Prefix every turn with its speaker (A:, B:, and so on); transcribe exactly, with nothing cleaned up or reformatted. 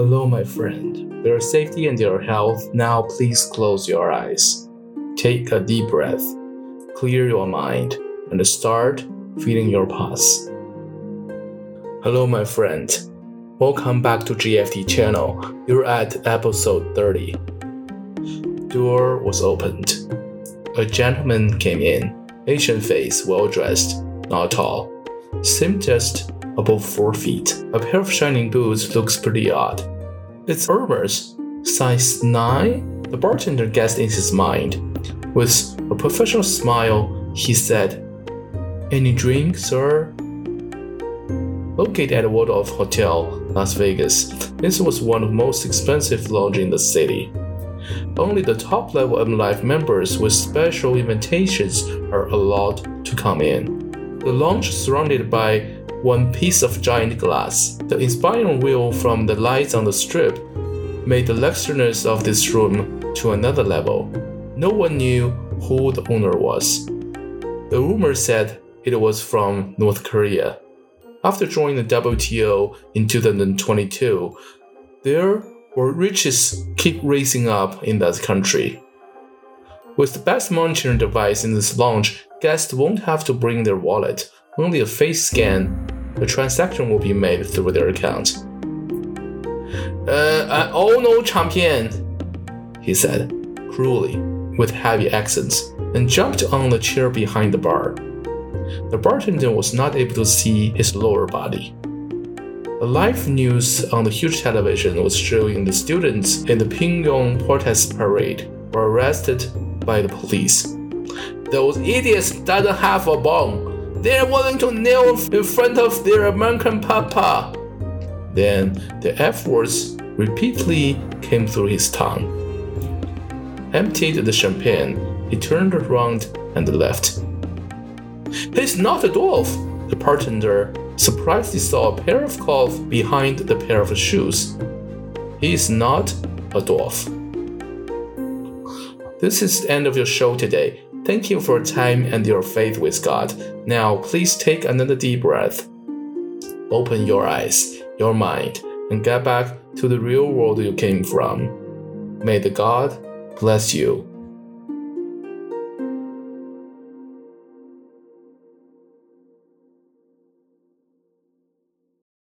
A: Hello, my friend. For your safety and your health, now please close your eyes. Take a deep breath, clear your mind, and start feeling your pulse. Hello, my friend. Welcome back to G F T channel. You're at episode thirty. Door was opened. A gentleman came in, Asian face, well-dressed, not tall. Seemed just above four feet. A pair of shining boots looks pretty odd. It's Hermes, size nine? The bartender guessed in his mind. With a professional smile, he said, "Any drink, sir?" Located at Waldorf Hotel, Las Vegas, this was one of the most expensive lounges in the city. Only the top-level M Life members with special invitations are allowed to come in. The lounge is surrounded by one piece of giant glass. The inspiring view from the lights on the strip made the luxuriousness of this room to another level. No one knew who the owner was. The rumor said it was from North Korea. After joining the W T O in two thousand twenty-two, there were riches keep rising up in that country. With the best monitoring device in this lounge, guests won't have to bring their wallet. Only a face scan. The transaction will be made through their account. Uh, I owe no champion, he said, cruelly, with heavy accents, and jumped on the chair behind the bar. The bartender was not able to see his lower body. The live news on the huge television was showing the students in the Pyongyang protest parade were arrested by the police. Those idiots doesn't have a bone. They're willing to kneel in front of their American papa. Then the F words repeatedly came through his tongue. Emptied the champagne, he turned around and left. He's not a dwarf. The bartender surprisingly saw a pair of claws behind the pair of shoes. He is not a dwarf. This is the end of your show today. Thank you for your time and your faith with God. Now, please take another deep breath. Open your eyes, your mind, and get back to the real world you came from. May the God bless you.